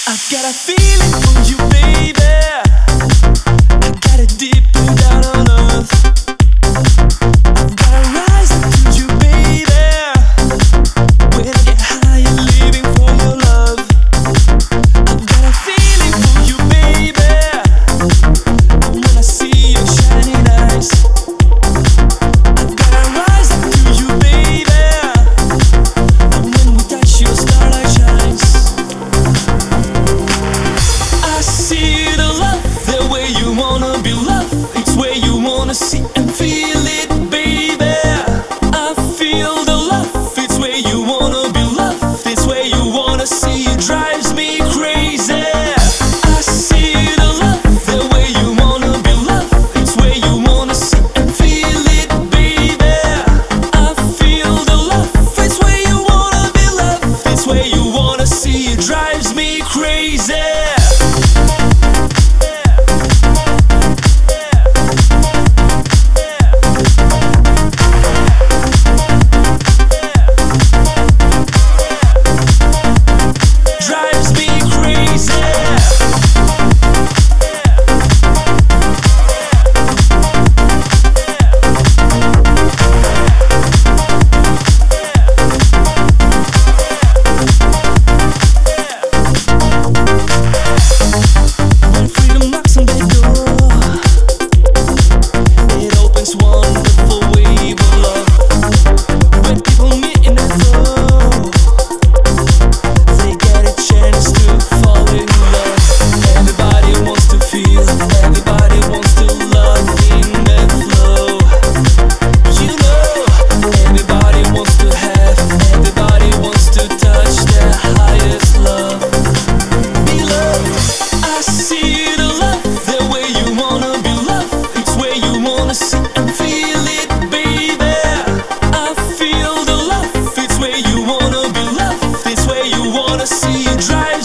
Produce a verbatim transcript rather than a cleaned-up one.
I've got a feeling for you, baby. I got it deep down on earth. I've gotta rise up to you, baby. When I get higher, living for your love. I've got a feeling for you, baby. And when I see your shining eyes, I've gotta rise up to you, baby. And when we touch, your starlight shines. I see the love, the way you wanna be loved. It's where you wanna see and feel it, baby. I feel the love, it's where you wanna be loved. It's where you wanna see, it drives me crazy. I see the love, the way you wanna be loved. It's where you wanna see and feel it, baby. I feel the love, it's where you wanna be loved. It's where you wanna see, it drives me crazy. Drives me crazy. When freedom knocks on their door, it opens wonderful wave of love. When people meet in a flow, they get a chance to fall in love. Everybody wants to feel, everybody wants to love in that flow. You know, everybody wants to have, everybody wants to touch their highest love. Be loved. I see the love, the way you wanna be loved. It's where you wanna see and feel it, baby. I feel the love, it's where you wanna be loved. It's where you wanna see, it drive